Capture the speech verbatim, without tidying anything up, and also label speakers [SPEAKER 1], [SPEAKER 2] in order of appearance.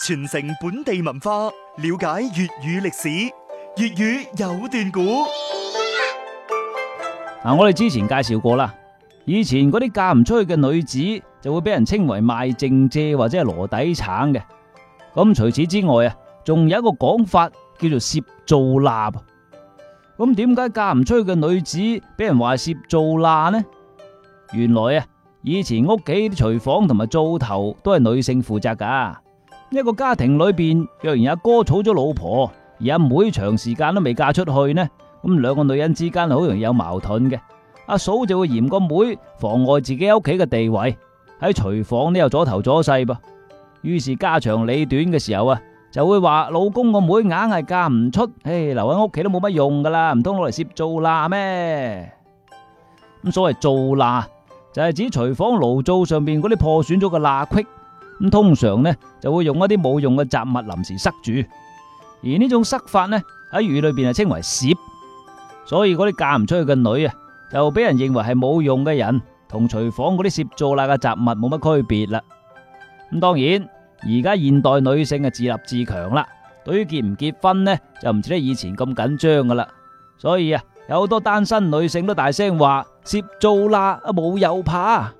[SPEAKER 1] 傳承本地文化，了解粵語歷史。粵語有段古。
[SPEAKER 2] 嗱，我哋之前介紹過啦，以前嗰啲嫁唔出去嘅女子就會俾人稱為賣剩蔗或者係籮底橙嘅。咁除此之外啊，仲有一個講法叫做攝灶罅。咁點解嫁唔出去嘅女子俾人話攝灶罅呢？原來啊，以前屋企啲廚房同埋灶頭都係女性負責噶。一個家庭裏邊，若然阿哥娶咗老婆，而阿妹長時間都未嫁出去呢，咁兩個女人之間好容易有矛盾嘅。阿嫂就會嫌個妹妨礙自己屋企嘅地位，喺廚房呢又阻頭阻勢噃。於是家長里短嘅時候啊，就會話老公個妹硬係嫁唔出，唉，留喺屋企都冇乜用噶啦，唔通攞嚟攝灶罅咩？咁所謂灶罅就係指廚房爐灶上邊嗰啲破損咗嘅罅隙，咁通常呢就會用一啲冇用嘅雜物臨時塞住，而呢種塞法呢喺粵語裏邊係稱為攝，所以嗰啲嫁唔出去嘅女啊，就俾人認為係冇用嘅人，同廚房嗰啲攝灶罅嘅雜物冇乜區別啦。咁當然，而家現代女性啊自立自強啦，對於結唔結婚呢就唔似得以前咁緊張噶啦，所以啊有好多單身女性都大聲話攝灶罅啊冇有怕。